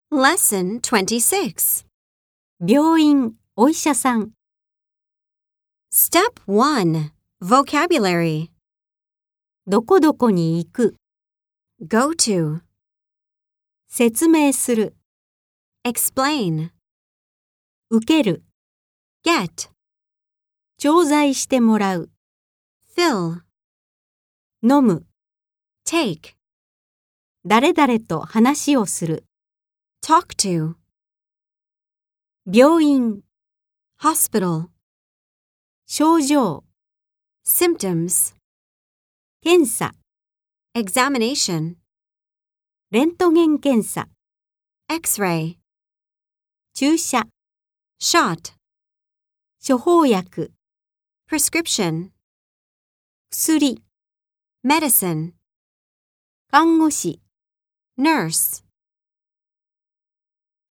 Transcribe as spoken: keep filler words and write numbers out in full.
Lesson twenty-six. 病院、お医者さん。 Step one. Vocabulary. どこどこに行く。 Go to. 説明する。 Explain. 受ける。 Get. 調剤してもらう。 Fill. 飲む。 Take. 誰々と話をする。 Talk to. 病院、 Hospital. 症状、 Symptoms. 検査、 Examination. レントゲン検査、 X-ray. 注射、 Shot. 処方薬、 Prescription. 薬、 Medicine. 看護師。 Nurse.